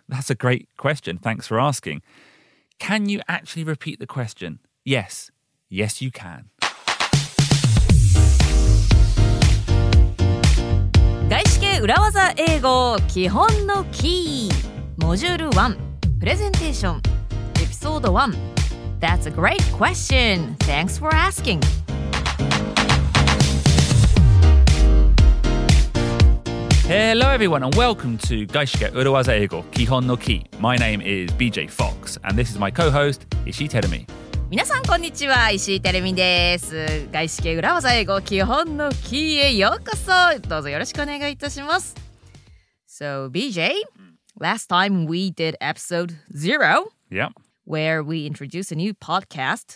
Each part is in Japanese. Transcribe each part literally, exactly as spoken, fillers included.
that's a great question. Thanks for asking. Can you actually repeat the question? Yes. Yes, you can. 外資系裏技英語基本のキーモジュールいちプレゼンテーションエピソードいち That's a great question. Thanks for asking. Hello everyone and welcome to 外資系裏技英語基本のキー My name is B J Fox and this is my co-host 石井てるみ。 皆さんこんにちは、石井てるみです。外資系裏技英語基本のキーへようこそ。どうぞよろしくお願いいたします。So B J, last time we did episode zero, Yep. where we introduced a new podcast,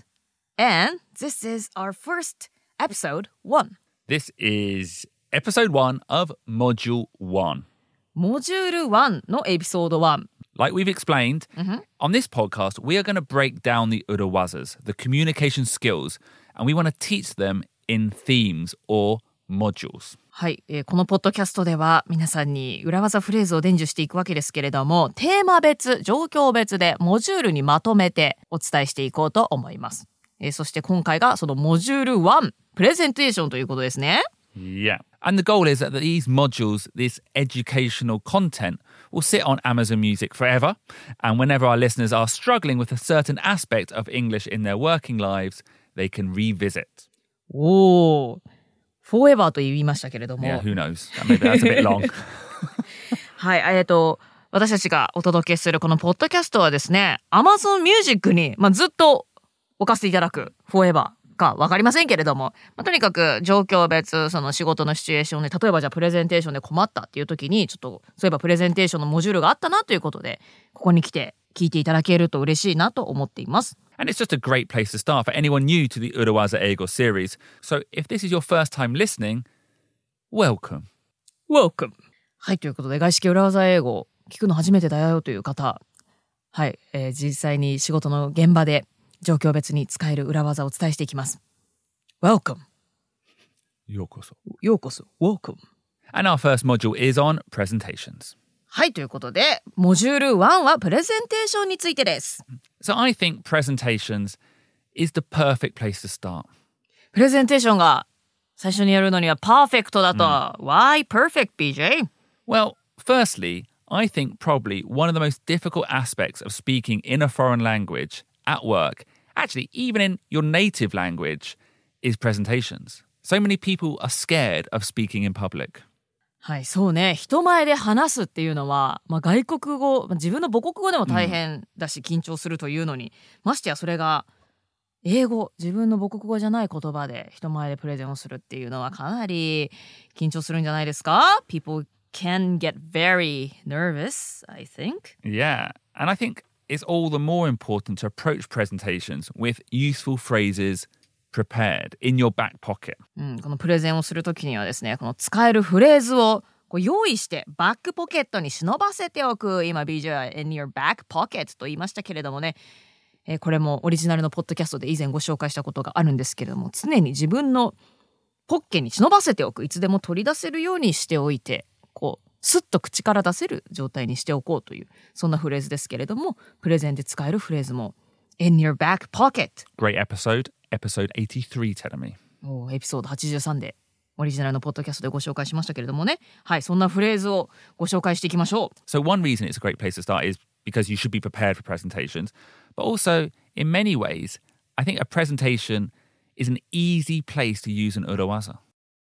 and this is our first episode one. This is episode one of module one. モジュールいちのエピソードいち。 Like we've explained, mm-hmm. on this podcast, we are going to break down the urawazas, the communication skills, and we want to teach them in themes or modules. はい、えー、このポッドキャストでは皆さんに裏技フレーズを伝授していくわけですけれども、テーマ別、状況別でモジュールにまとめてお伝えしていこうと思います。えー、そして今回がそのモジュールいち、プレゼンテーションということですね。 Yeah. And the goal is that these modules, this educational content, will sit on Amazon Music forever. And whenever our listeners are struggling with a certain aspect of English in their working lives, they can revisit. おー、forever と言いましたけれども。 Yeah, who knows? Maybe that's a bit long. はい、えっと、私たちがお届けするこのポッドキャストはですね、Amazon Music に、まあ、ずっと置かせていただく forever。か分かりませんけれども、まあ、とにかく状況別、その仕事のシチュエーションで、例えばじゃあプレゼンテーションで困ったっていう時に、ちょっとそういえばプレゼンテーションのモジュールがあったなということで、ここに来て聞いていただけると嬉しいなと思っています。 And it's just a great place to start for anyone new to the Urawaza Eigo series. So if this is your first time listening, welcome. Welcome. はい、ということで、外資系裏技英語聞くの初めてだよという方、はい、えー、実際に仕事の現場で状況別に使える裏技をお伝えしていきます。Welcome. ようこそ。 ようこそ。Welcome. And our first module is on presentations. はい、ということで、モジュールいちはプレゼンテーションについてです。 So I think presentations is the perfect place to start. プレゼンテーションが最初にやるのにはパーフェクトだと。Mm. Why perfect, B J? Well, firstly, I think probably one of the most difficult aspects of speaking in a foreign language at work, actually even in your native language, is presentations. So many people are scared of speaking in public. はい、そうね。人前で話すっていうのは、まあ、外国語、自分の母国語でも大変だし、緊張するというのに、ましてやそれが英語、自分の母国語じゃない言葉で人前でプレゼンをするっていうのはかなり緊張するんじゃないですか？ People can get very nervous, I think. Yeah, and I think it's all the more important to approach presentations with useful phrases prepared in your back pocket. うん、このプレゼンをするときにはですね、この使えるフレーズをこう用意してバックポケットに忍ばせておく。今 ビージェー は in your back pocket と言いましたけれどもね、えー、これもオリジナルのポッドキャストで以前ご紹介したことがあるんですけれども、常に自分のポッケに忍ばせておく。いつでも取り出せるようにしておいて、こうスッと口から出せる状態にしておこうという、そんなフレーズですけれども、プレゼンで使えるフレーズも in your back pocket. Great episode, episode eighty-three, テルミ。 おエピソードはちじゅうさんでオリジナルのポッドキャストでご紹介しましたけれどもね。はい、そんなフレーズをご紹介していきましょう。 So one reason it's a great place to start is because you should be prepared for presentations. But also, in many ways, I think a presentation is an easy place to use an urawaza.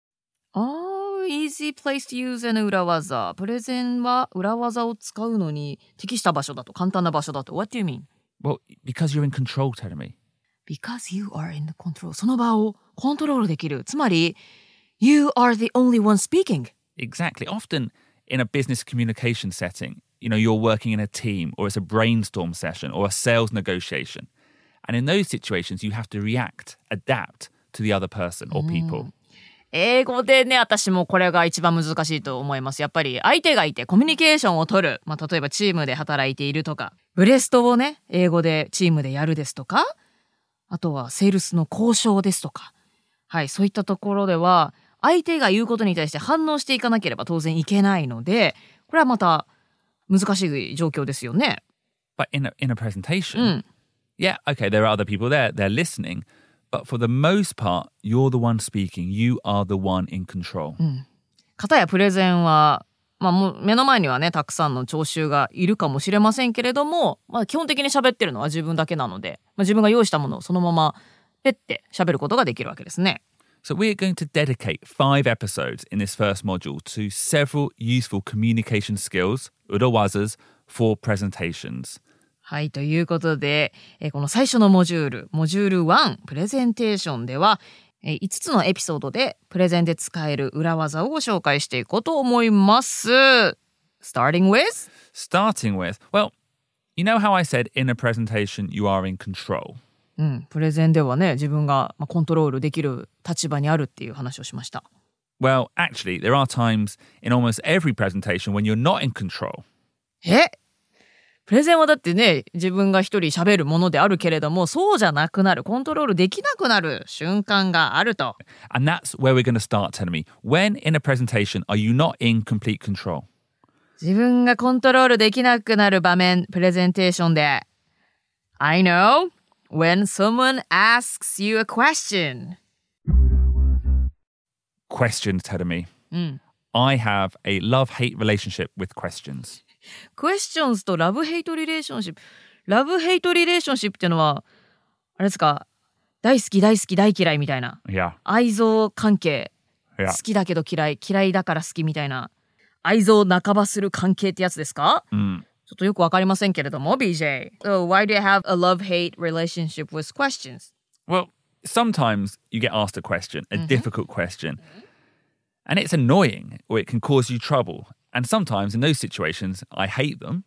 Oh, easy place to use an 裏技。プレゼンは裏技を使うのに適した場所だと、簡単な場所だと。What do you mean? Well, because you're in control, テルミ。 Because you are in the control. その場をコントロールできる。つまり、You are the only one speaking. Exactly. Often in a business communication setting, you know, you're working in a team or it's a brainstorm session or a sales negotiation. And in those situations, you have to react, adapt to the other person or people. 英語でね、私もこれが一番難しいと思います。やっぱり相手がいてコミュニケーションを取る。まあ、例えばチームで働いているとか、ブレストをね、英語でチームでやるですとか、あとはセールスの交渉ですとか。はい、そういったところでは、相手が言うことに対して反応していかなければ当然いけないので、これはまた難しい状況ですよね。 But in a, in a presentation, うん。 yeah, okay, there are other people there, they're listening. But for the most part, you're the one speaking. You are the one in control. うん。片やプレゼンは、まあ、もう目の前にはね、たくさんの聴衆がいるかもしれませんけれども、まあ、基本的に喋ってるのは自分だけなので、まあ、自分が用意したものをそのままペッて喋ることができるわけですね。 So we're going to dedicate five episodes in this first module to several useful communication skills, urawazas, for presentations. はい、ということで、えーこの最初のモジュール、モジュールワン、プレゼンテーションでは、えーいつつのエピソードでプレゼンで使える裏技をご紹介していこうと思います。Starting with? Starting with, well, you know how I said in a presentation you are in control? うん、プレゼンではね、自分がまあコントロールできる立場にあるっていう話をしました。 Well, actually, there are times in almost every presentation when you're not in control. えプレゼンはだってね、自分が一人喋るものであるけれども、そうじゃなくなる、コントロールできなくなる瞬間があると。 And that's where we're going to start telling me. When in a presentation are you not in complete control? 自分がコントロールできなくなる場面、プレゼンテーションで。I know when someone asks you a question. Questions, telling me. うん。 I have a love-hate relationship with questions. questions とラブヘイトリレーションシップ。ラブヘイトリレーションシップっていうのは、あれですか、大好き大好き大嫌いみたいな。 Yeah. 愛憎関係。 Yeah. 好きだけど嫌い、嫌いだから好きみたいな。愛憎半ばする関係ってやつですか、 Mm. ちょっとよくわかりませんけれども、ビージェー. So why do you have a love-hate relationship with questions? Well, sometimes you get asked a question, a difficult question, and it's annoying or it can cause you trouble. And sometimes in those situations, I hate them.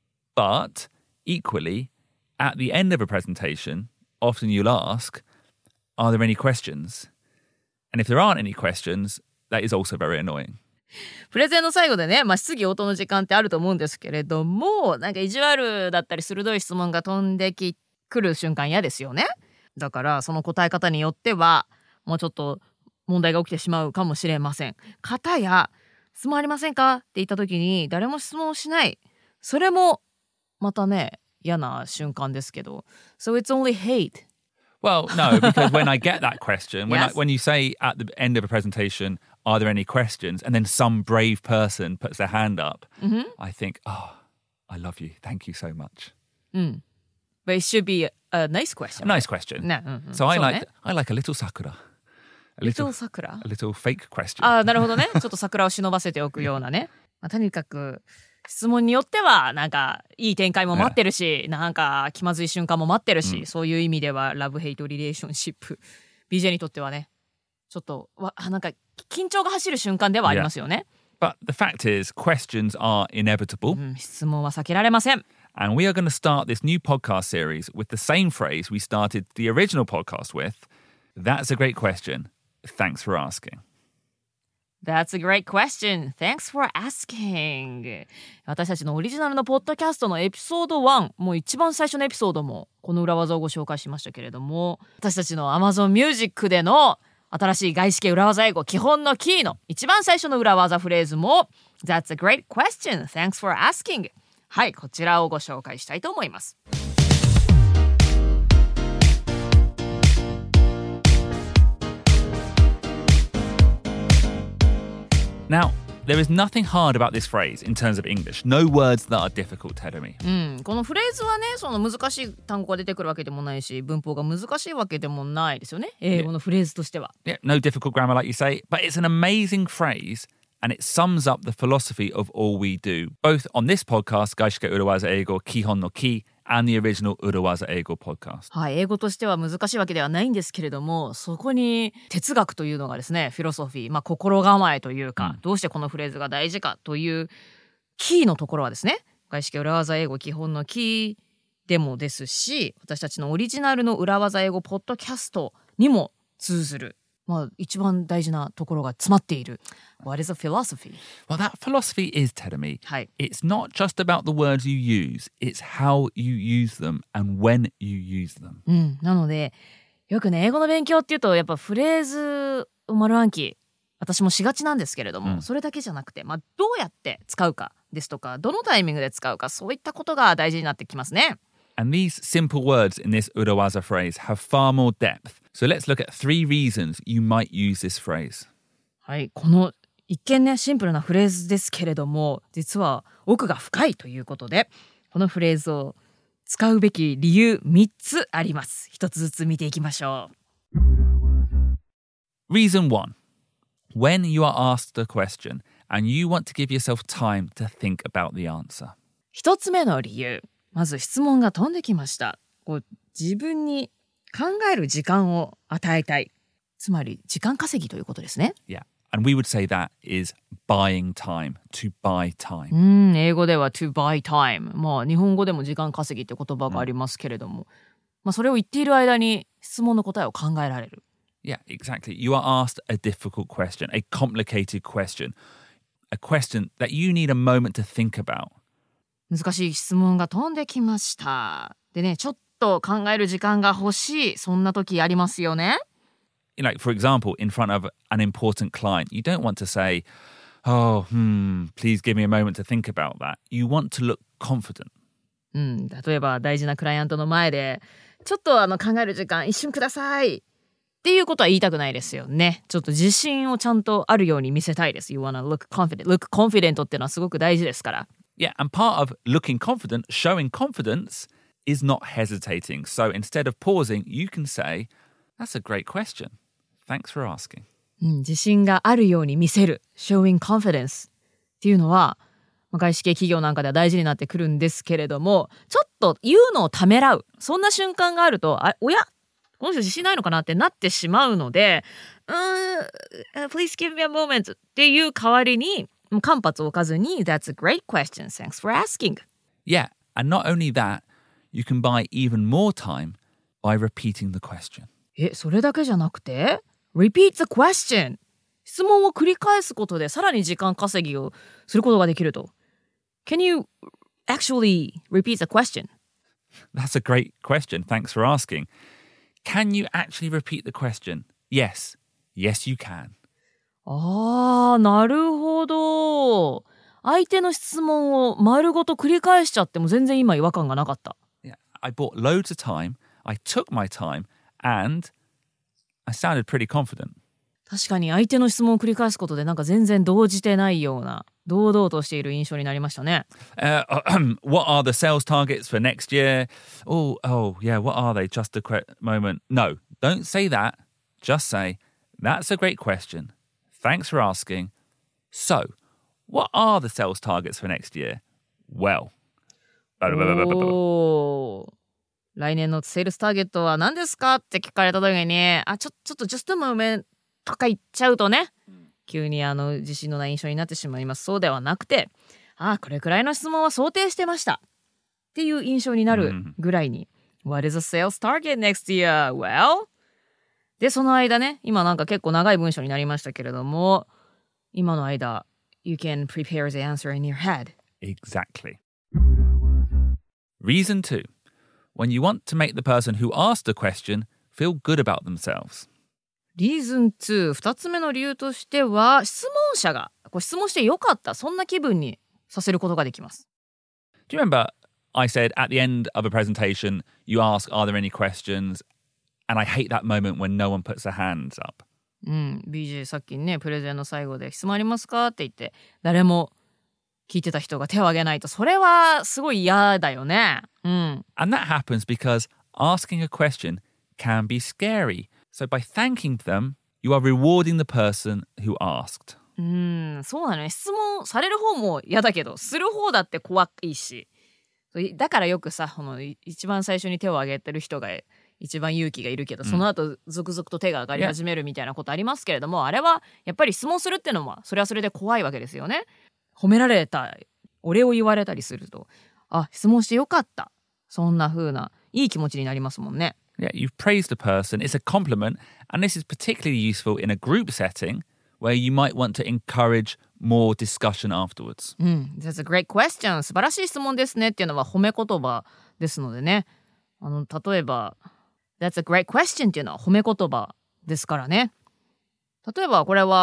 But equally, at the end of a presentation, often you'll ask, are there any questions? And if there aren't any questions, that is also very annoying. プレゼンの最後でね、まあ、質疑応答の時間ってあると思うんですけれども、なんか意地悪だったり鋭い質問が飛んできくる瞬間嫌ですよね。だからその答え方によってはもうちょっと問題が起きてしまうかもしれません。かたや質問ありませんかって言った時に誰も質問をしない。それもまたね、嫌な瞬間ですけど。So it's only hate. Well, no, because when I get that question, when, Yes. I, when you say at the end of a presentation, are there any questions? And then some brave person puts their hand up, Mm-hmm. I think, oh, I love you. Thank you so much. うん。But it should be a, a nice question. A nice question. ね、うんうん、 So I そう like ね I like a little sakura. A little little, 桜 a little fake question. ああ、なるほどね。ちょっと桜を忍ばせておくようなね。まあ、とにかく質問によってはなんかいい展開も待ってるし、なんか気まずい瞬間も待ってるし、 うんそういう意味ではラブヘイトリレーションシップ ビージェー にとってはね、ちょっとわなんか緊張が走る瞬間ではありますよね。 But the fact is, questions are inevitable. うん、質問は避けられません。 And we are going to start this new podcast series with the same phrase we started the original podcast with. That's a great question. Thanks for asking. That's a great question. Thanks for asking. 私たちのオリジナルのポッドキャストのエピソードワン、もう一番最初のエピソードもこの裏技をご紹介しましたけれども、私たちの Amazon Music での新しい外資系裏技英語基本のキーの一番最初の裏技フレーズも That's a great question. Thanks for asking. はい、こちらをご紹介したいと思います。 Now, there is nothing hard about this phrase in terms of English. No words that are difficult, Terumi. うん、このフレーズはね、その難しい単語が出てくるわけでもないし、文法が難しいわけでもないですよね。英語のフレーズとしては。 Yeah, no difficult grammar, like you say, but it's an amazing phrase and it sums up the philosophy of all we do, both on this podcast, Gaishike Urawaza Eigo Kihon no Ki, and the original Urawaza Eigo podcast. はい、英語としては難しいわけではないんですけれども、そこに哲学というのがですね、フィロソフィー、まあ心構えというか、 うん、 どうしてこのフレーズが大事かというキーのところはですね、外資系裏技英語基本のキーでもですし、私たちのオリジナルの裏技英語ポッドキャストにも通ずる、まあ一番大事なところが詰まっている。What is a philosophy? Well, that philosophy is, Terumi, はい。 it's not just about the words you use, it's how you use them and when you use them. うん、なのでよくね、英語の勉強っていうとやっぱフレーズを丸暗記私もしがちなんですけれども、 うんそれだけじゃなくて、まあ、どうやって使うかですとか、どのタイミングで使うか、そういったことが大事になってきますね。 And these simple words in this urawaza phrase have far more depth. So let's look at three reasons you might use this phrase. はい、この一見ねシンプルなフレーズですけれども、実は奥が深いということで、このフレーズを使うべき理由みっつあります。一つずつ見ていきましょう。 Reason one. When you are asked a question and you want to give yourself time to think about the answer. 一つ目の理由、まず質問が飛んできました。こう自分に考える時間を与えたい。つまり時間稼ぎということですね。 Yeah. And we would say that is buying time, to buy time. うん、英語では to buy time。まあ日本語でも時間稼ぎって言葉がありますけれども、うん、まあそれを言っている間に質問の答えを考えられる。 Yeah, exactly. You are asked a difficult question, a complicated question, a question that you need a moment to think about. 難しい質問が飛んできました。でね、ちょっと考える時間が欲しい、そんな時ありますよね。 Like, for example, in front of an important client, you don't want to say, oh, hmm, please give me a moment to think about that. You want to look confident. うん、例えば大事なクライアントの前で、ちょっとあの考える時間一瞬ください。っていうことは言いたくないですよね。ちょっと自信をちゃんとあるように見せたいです。You wanna look confident. Look confident っていうのはすごく大事ですから。 Yeah, and part of looking confident, showing confidence, is not hesitating. So instead of pausing, you can say, that's a great question. Thanks for asking. うん、自信があるように見せる。Showing confidence っていうのは、外資系企業なんかでは大事になってくるんですけれども、ちょっと言うのをためらう。そんな瞬間があると、あ、おやこの人自信ないのかなってなってしまうので、うーん、please give me a moment っていう代わりに、間髪を置かずに、that's a great question, thanks for asking. Yeah, and not only that, you can buy even more time by repeating the question. え、それだけじゃなくて repeat the question 質問を繰り返すことでさらに時間稼ぎをすることができると。Can you actually repeat the question? That's a great question. Thanks for asking. Can you actually repeat the question? Yes. Yes, you can. あー、なるほど。相手の質問を丸ごと繰り返しちゃっても全然今違和感がなかった。 Yeah, I bought loads of time. I took my time and I sounded pretty confident. 確かに相手の質問を繰り返すことでなんか全然動じてないような堂々としている印象になりましたね。 Uh, what are the sales targets for next year? Oh, oh, yeah, what are they? Just a quick moment. No, don't say that. Just say, that's a great question. Thanks for asking. So, what are the sales targets for next year? Well. おー。来年のセールスターゲットは何ですかって聞かれた時に、あ、ちょ、ちょっと just a moment とか言っちゃうとね、急にあの自信のない印象になってしまいます。そうではなくて、あ、これくらいの質問は想定してましたっていう印象になるぐらいに、うん、What is the sales target next year? Well? で、その間ね、今なんか結構長い文章になりましたけれども、今の間、You can prepare the answer in your head. Exactly. Reason two. When you want to make the person who asked the question feel good about themselves. リーズンツー、二つ目の理由としては、質問者がこう質問してよかった、そんな気分にさせることができます。 Do you remember I said at the end of a presentation, you ask, are there any questions? And I hate that moment when no one puts their hands up. うん、ビージェー さっきね、プレゼンの最後で質問ありますかって言って、誰も聞いてた人が手を挙げないと、それはすごい嫌だよね。うん。 And that happens because asking a question can be scary. So by thanking them, you are rewarding the person who asked. うん、そうなのね。質問される方も嫌だけど、する方だって怖いし。だからよくさ、この一番最初に手を挙げてる人が一番勇気がいるけど、その後続々と手が上がり始めるみたいなことありますけれども、あれはやっぱり質問するってのはそれはそれで怖いわけですよね。褒められた、お礼を言われたりすると、あ、質問してよかった、そんな風ないい気持ちになりますもんね。 Yeah, you've praised a person. It's a compliment, and this is particularly useful in a group setting where you might want to encourage more discussion afterwards. うん、That's a great question. 素晴らしい質問ですねっていうのは褒め言葉ですのでね。あの例えば That's a great question っていうのは褒め言葉ですからね。例えばこれは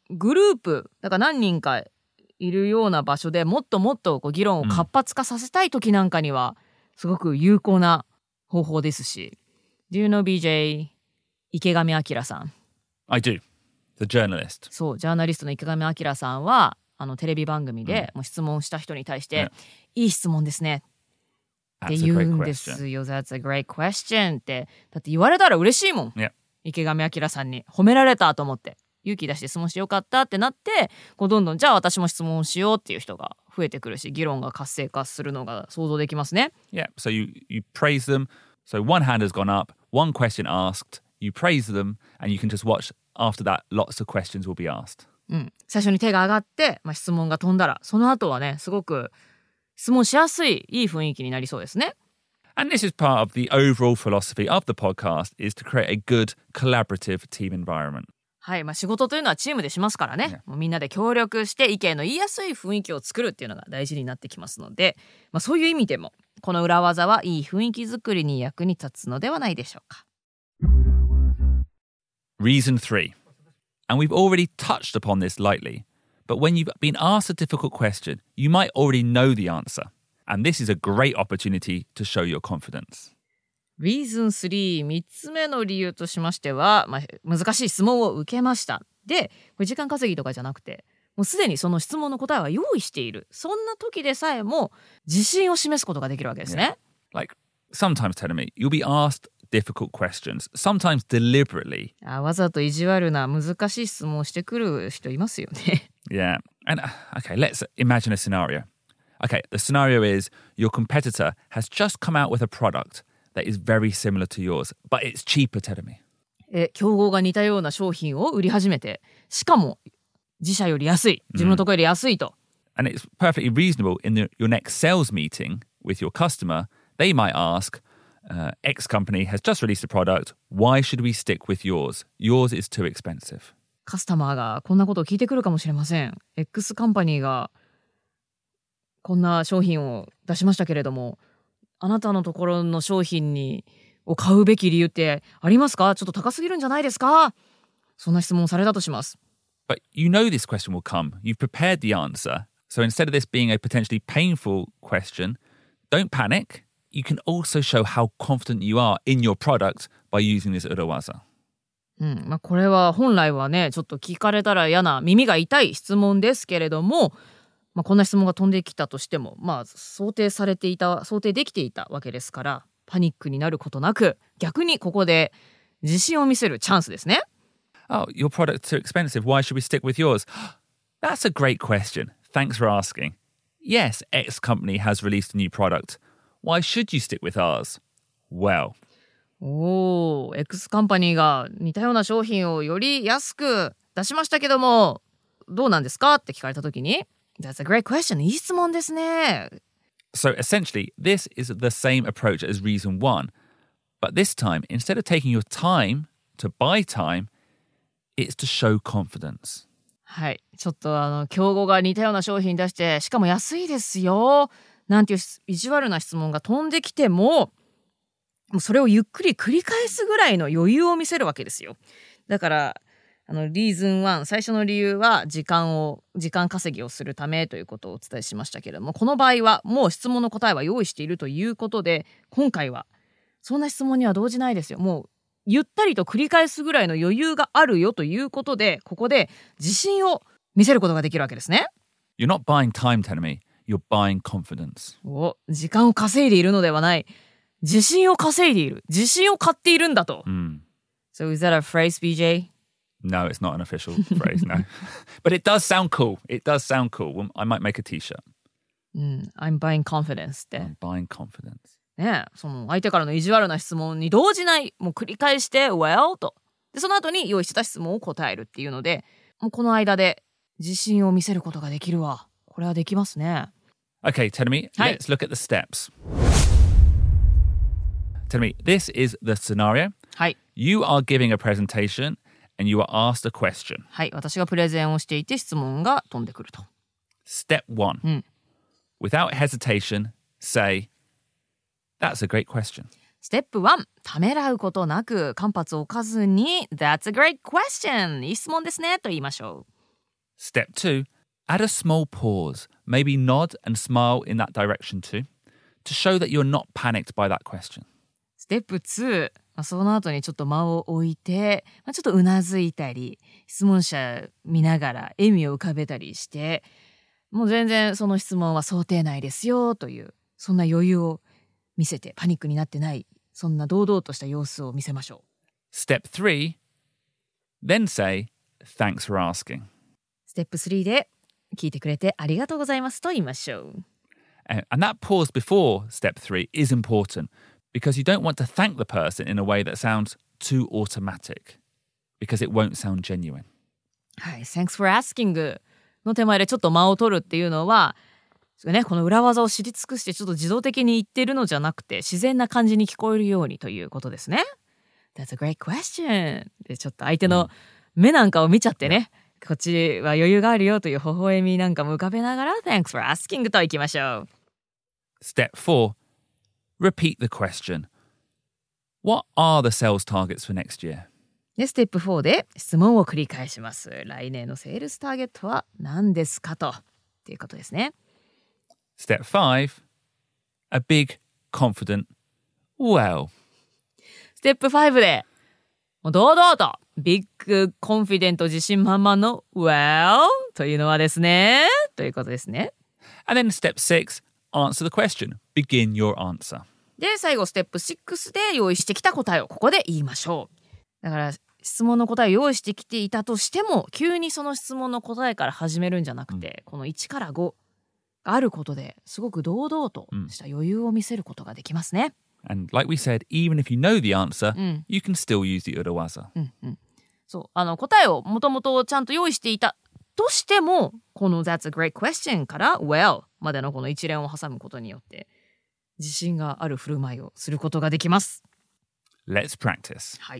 グループだから何人かいるような場所でもっともっとこう議論を活発化させたい時なんかにはすごく有効な方法ですし。Do you know ビージェー 池上彰さん？ I do. The journalist. そうジャーナリストの池上彰さんはあのテレビ番組でもう質問した人に対して、うん、いい質問ですねって言うんですよ。 That's a great question ってだって言われたら嬉しいもん、 yeah. 池上彰さんに褒められたと思って勇気出して質問してよかったってなってこうどんどんじゃあ私も質問しようっていう人が増えてくるし議論が活性化するのが想像できますね。 Yeah, so you, you praise them. So one hand has gone up, one question asked, you praise them and you can just watch after that lots of questions will be asked、 うん、最初に手が上がって、まあ、質問が飛んだらその後はねすごく質問しやすいいい雰囲気になりそうですね。 And this is part of the overall philosophy of the podcast is to create a good collaborative team environment. はい、まあ、仕事というのはチームでしますからね、もうみんなで協力して意見の言いやすい雰囲気を作るっていうのが大事になってきますので、まあ、そういう意味でもこの裏技はいい雰囲気作りに役に立つのではないでしょうか。 Reason three. And we've already touched upon this lightly, but when you've been asked a difficult question, you might already know the answer. And this is a great opportunity to show your confidence. Reason three、みっつめの理由としましては、まあ、難しい質問を受けました。で、これ時間稼ぎとかじゃなくて、もうすでにその質問の答えは用意している。そんな時でさえも自信を示すことができるわけですね。 Yeah. Like, sometimes, tell me, you'll be asked difficult questions, sometimes deliberately. あ、わざと意地悪な難しい質問をしてくる人いますよね。 Yeah. And, okay, let's imagine a scenario. Okay, the scenario is your competitor has just come out with a product that is very similar to yours, but it's cheaper, tell me. え、競合が似たような商品を売り始めて、しかも自社より安い、自分のところより安いと。 And it's perfectly reasonable in the, your next sales meeting with your customer, they might ask, uh, X company has just released a product, why should we stick with yours? Yours is too expensive. カスタマーがこんなことを聞いてくるかもしれません。X カンパニーがこんな商品を出しましたけれども、あなたのところの商品にを買うべき理由ってありますか？ちょっと高すぎるんじゃないですか？そんな質問をされたとします。 But you know this question will come. You've prepared the answer. So instead of this being a potentially painful question, don't panic. You can also show how confident you are in your product by using this urawaza. うんまあ、これは本来はねちょっと聞かれたら嫌な耳が痛い質問ですけれども、まあ、こんな質問が飛んできたとしても、まあ、想定されていた想定できていたわけですからパニックになることなく逆にここで自信を見せるチャンスですね。 Oh, your product's too expensive. Why should we stick with yours? That's a great question. Thanks for asking. Yes, X company has released a new product. Why should you stick with ours? Well. おー、X カンパニーが似たような商品をより安く出しましたけども、どうなんですかって聞かれたときに、That's a great question. いい質問ですね。 So essentially, this is the same approach as reason one. But this time, instead of taking your time to buy time, it's to show confidence. はい、ちょっとあの競合が似たような商品出してしかも安いですよなんていう意地悪な質問が飛んできても、もうそれをゆっくり繰り返すぐらいの余裕を見せるわけですよ。だからあのリーズンワン最初の理由は時間を時間稼ぎをするためということをお伝えしましたけれども、この場合はもう質問の答えは用意しているということで、今回はそんな質問には動じないですよ。もうゆったりと繰り返すぐらいの余裕があるよということで、ここで自信を見せることができるわけですね。 You're not buying time, tell me. You're buying confidence. お、時間を稼いでいるのではない。自信を稼いでいる。自信を買っているんだと。 Mm. So is that a phrase, ビージェー? No, it's not an official phrase, no. But it does sound cool. It does sound cool. Well, I might make a t-shirt. うん、I'm buying confidence って。 I'm buying confidence. ねえ、その相手からの意地悪な質問に動じない、もう繰り返して well とでその後に用意してた質問を答えるっていうので、もうこの間で自信を見せることができるわ。これはできますね。 Okay, Tenemi, はい。 let's look at the steps. Tenemi, this is the scenario. はい。 You are giving a presentation and you are asked a question. はい、私がプレゼンをしていて質問が飛んでくると。 Step one. うん。 Without hesitation, say, That's a great question. ステップワン、ためらうことなく間髪を置かずに That's a great question. いい質問ですねと言いましょう。 Step two, add a small pause. Maybe nod and smile in that direction too, to show that you're not panicked by that question. ステップツー、まあ、その後にちょっと間を置いて、まあ、ちょっとうなずいたり、質問者見ながら笑みを浮かべたりして、もう全然その質問は想定内ですよという、そんな余裕を見せて、パニックになってない、そんな堂々とした様子を見せましょう。 Step three, then say, thanks for asking. ステップスリーで、聞いてくれてありがとうございますと言いましょう。 And that pause before step three is important because you don't want to thank the person in a way that sounds too automatic because it won't sound genuine. はい、Thanks for asking の手前でちょっと間を取るっていうのは、ね、この裏技を知り尽くしてちょっと自動的に言ってるのじゃなくて自然な感じに聞こえるようにということですね。That's a great question. でちょっと相手の目なんかを見ちゃってね、こっちは余裕があるよという微笑みなんかも浮かべながら Thanks for asking といきましょう。 Step four, repeat the question. What are the sales targets for next year? で、ステップフォーで質問を繰り返します。来年のセールスターゲットは何ですかとっていうことですね。 Step five, a big, confident, well. ステップファイブでもう堂々とビッグコンフィデント自信満々の Well というのはですねということですね。 And then step six, answer the question. Begin your answer. で最後ステップシックスで用意してきた答えをここで言いましょう。だから質問の答えを用意してきていたとしても急にその質問の答えから始めるんじゃなくて、うん、このいちからごがあることですごく堂々とした余裕を見せることができますね。 And like we said, even if you know the answer,、 うん、 you can still use the urawaza、 うんうん、そうあの答えをもともとちゃんと用意していたとしてもこの That's a great question から Well までのこの一連を挟むことによって自信がある振る舞いをすることができます。 Let's practice. はい。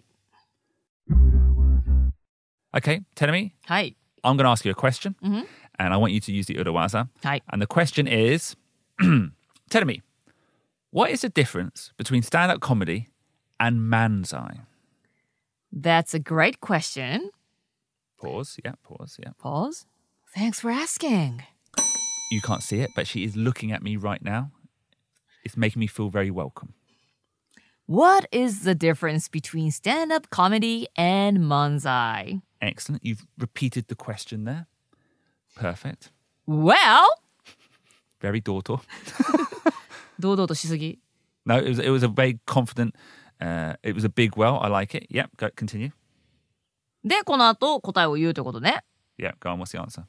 Okay, Tenemi, はい。 I'm going to ask you a question、 mm-hmm. and I want you to use the urawaza、 はい。 And the question is Tenemi, what is the difference between stand-up comedy and manzai? That's a great question. Pause, yeah, pause, yeah. Pause. Thanks for asking. You can't see it, but she is looking at me right now. It's making me feel very welcome. What is the difference between stand-up comedy and manzai? Excellent. You've repeated the question there. Perfect. Well, very 堂々. 堂々としすぎ. No, it was it was a very confident. Uh, it was a big well. I like it. Yep. Go, continue. でこの後答えを言うということね. Yeah. Go on. What's the answer?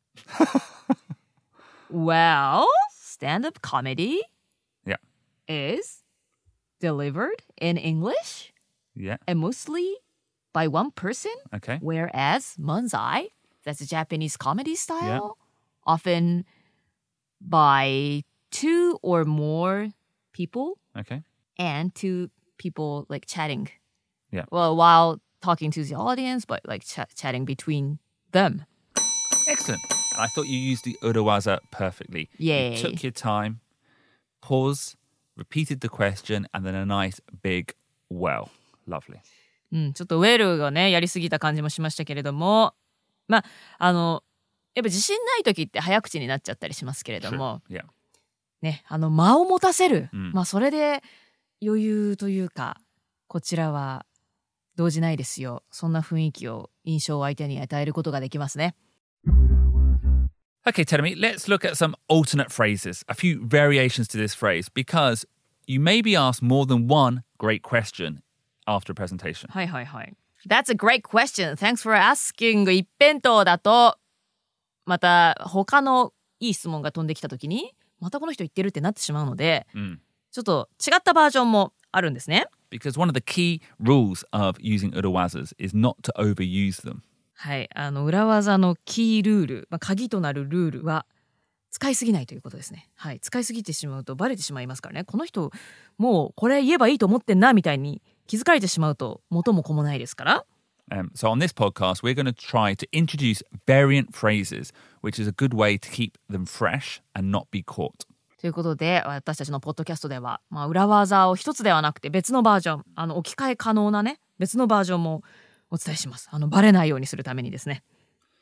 Well, stand-up comedy. Yeah. Is delivered in English. Yeah. And mostly by one person. Okay. Whereas manzai, that's a Japanese comedy style, yeah. often by two or more people. Okay. And two people like chatting. Yeah. Well, while talking to the audience, but like ch- chatting between them. Excellent. And I thought you used the urawaza perfectly. Yay. You took your time, pause, repeated the question, and then a nice big well. Lovely. うん、ちょっとウェルがねやりすぎた感じもしましたけれども、まああのやっぱ自信ない時って早口になっちゃったりしますけれども、 yeah. ねあの間を持たせる、 うん、 まあそれで余裕というかこちらは動じないですよ。そんな雰囲気を印象を相手に与えることができますね。 Okay, Tenemi, let's look at some alternate phrases, a few variations to this phrase, because you may be asked more than one great question after a presentation. はいはいはい。That's a great question. Thanks for asking. 一辺倒だと、また他のいい質問が飛んできたときに、またこの人言ってるってなってしまうので、うん、ちょっと違ったバージョンもあるんですね。 Because one of the key rules of using urawazas is not to overuse them. はい、あの裏技のキールール、まあ、鍵となるルールは使いすぎないということですね。はい、使いすぎてしまうとバレてしまいますからね。この人もうこれ言えばいいと思ってんなみたいに気づかれてしまうと元も子もないですから。 Um, so on this podcast, we're going to try to introduce variant phrases, which is a good way to keep them fresh and not be caught. ということで私たちのポッドキャストでは、まあ、裏技を一つではなくて別のバージョン、あの置き換え可能なね別のバージョンもお伝えします。あのバレないようにするためにですね。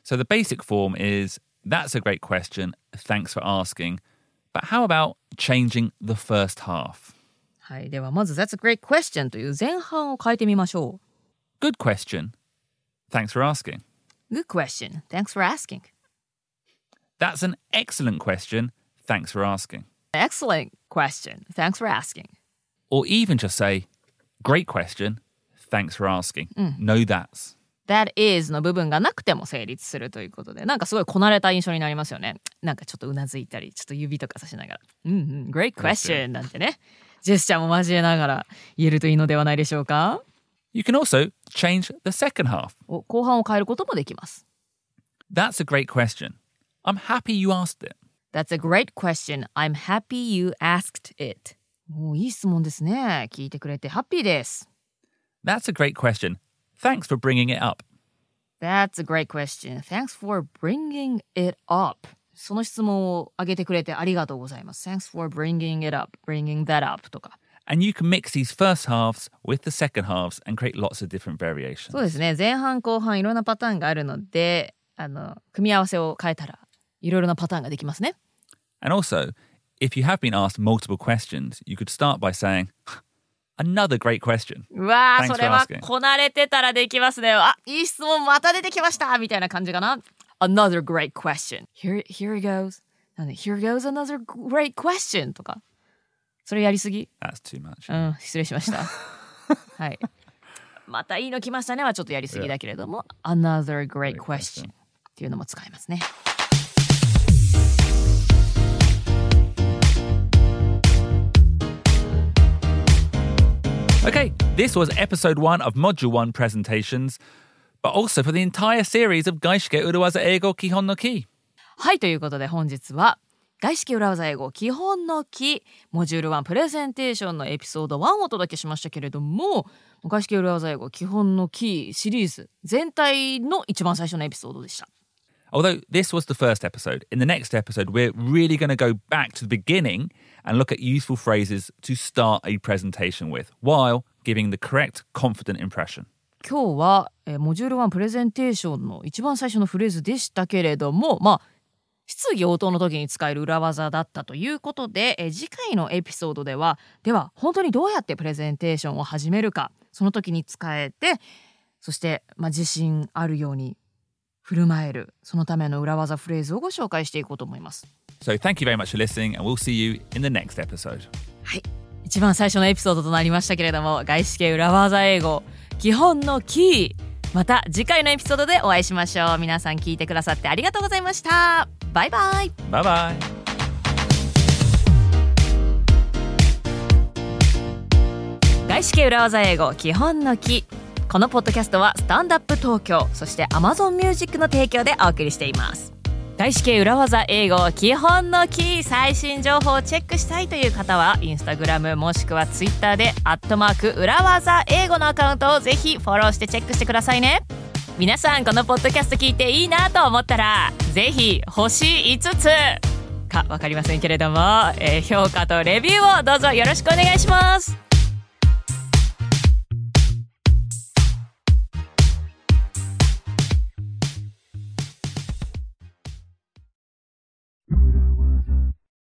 So the basic form is, that's a great question, thanks for asking. But how about changing the first half? はい、ではまず That's a great question という前半を変えてみましょう。 Good question. Thanks for asking. Good question. Thanks for asking. That's an excellent question. Thanks for asking. Excellent question. Thanks for asking. Or even just say, great question. Thanks for asking. No that's. That is の部分がなくても成立するということで、なんかすごいこなれた印象になりますよね。なんかちょっとうなずいたり、ちょっと指とかさしながら、うんうん、Great question なんてね、ジェスチャーも交えながら言えるといいのではないでしょうか。 You can also change the second half. お、後半を変えることもできます。 That's a great question. I'm happy you asked it. That's a great question. I'm happy you asked it. お、いい質問ですね。聞いてくれてハッピーです。 That's a great question. Thanks for bringing it up. That's a great question. Thanks for bringing it up. その質問を挙げてくれてありがとうございます。Thanks for bringing it up. Bringing that up とか。 And you can mix these first halves with the second halves and create lots of different variations. そうですね。前半後半いろんなパターンがあるので、あの組み合わせを変えたらいろいろなパターンができますね。 And also, if you have been asked multiple questions, you could start by saying, Another great question. うわー、 Thanks それは for asking. こなれてたらできますね。あ、いい質問また出てきましたみたいな感じかな。Another great question. Here, here it goes. なんで Here goes another great question とか。それやりすぎ？ That's too much. うん、失礼しました。はい。またいいの来ましたねはちょっとやりすぎだけれども、Another great question っていうのも使えますね。 Okay, this was episode one of Module one presentations, but also for the entire series of 外資系裏技英語基本のキー。 はい、ということで本日は外資系裏技英語基本のキーモジュールワンプレゼンテーションのエピソードワンをお届けしましたけれども、外資系裏技英語基本のキーシリーズ全体の一番最初のエピソードでした。 Although this was the first episode, in the next episode we're really going to go back to the beginning and look at useful phrases to start a presentation with, while giving the correct, confident impression. 今日は、えー、モジュールワンプレゼンテーションの一番最初のフレーズでしたけれども、まあ質疑応答の時に使える裏技だったということで、えー、次回のエピソードでは、では本当にどうやってプレゼンテーションを始めるか、その時に使えて、そして、まあ、自信あるように振る舞える、そのための裏技フレーズをご紹介していこうと思います。 So thank you very much for listening, and we'll see you in the next episode. はい、一番最初のエピソードとなりましたけれども、外資系裏技英語基本のキー、また次回のエピソードでお会いしましょう。皆さん聞いてくださってありがとうございました。バイバイ。 バイバイ。 外資系裏技英語基本のキー。このポッドキャストはスタンドアップ東京、そして Amazon Music の提供でお送りしています。外資系裏技英語基本のキー、最新情報をチェックしたいという方はインスタグラムもしくはツイッターでアットマーク裏技英語のアカウントをぜひフォローしてチェックしてくださいね。皆さんこのポッドキャスト聞いていいなと思ったらぜひ星いつつか分かりませんけれども、えー、評価とレビューをどうぞよろしくお願いします。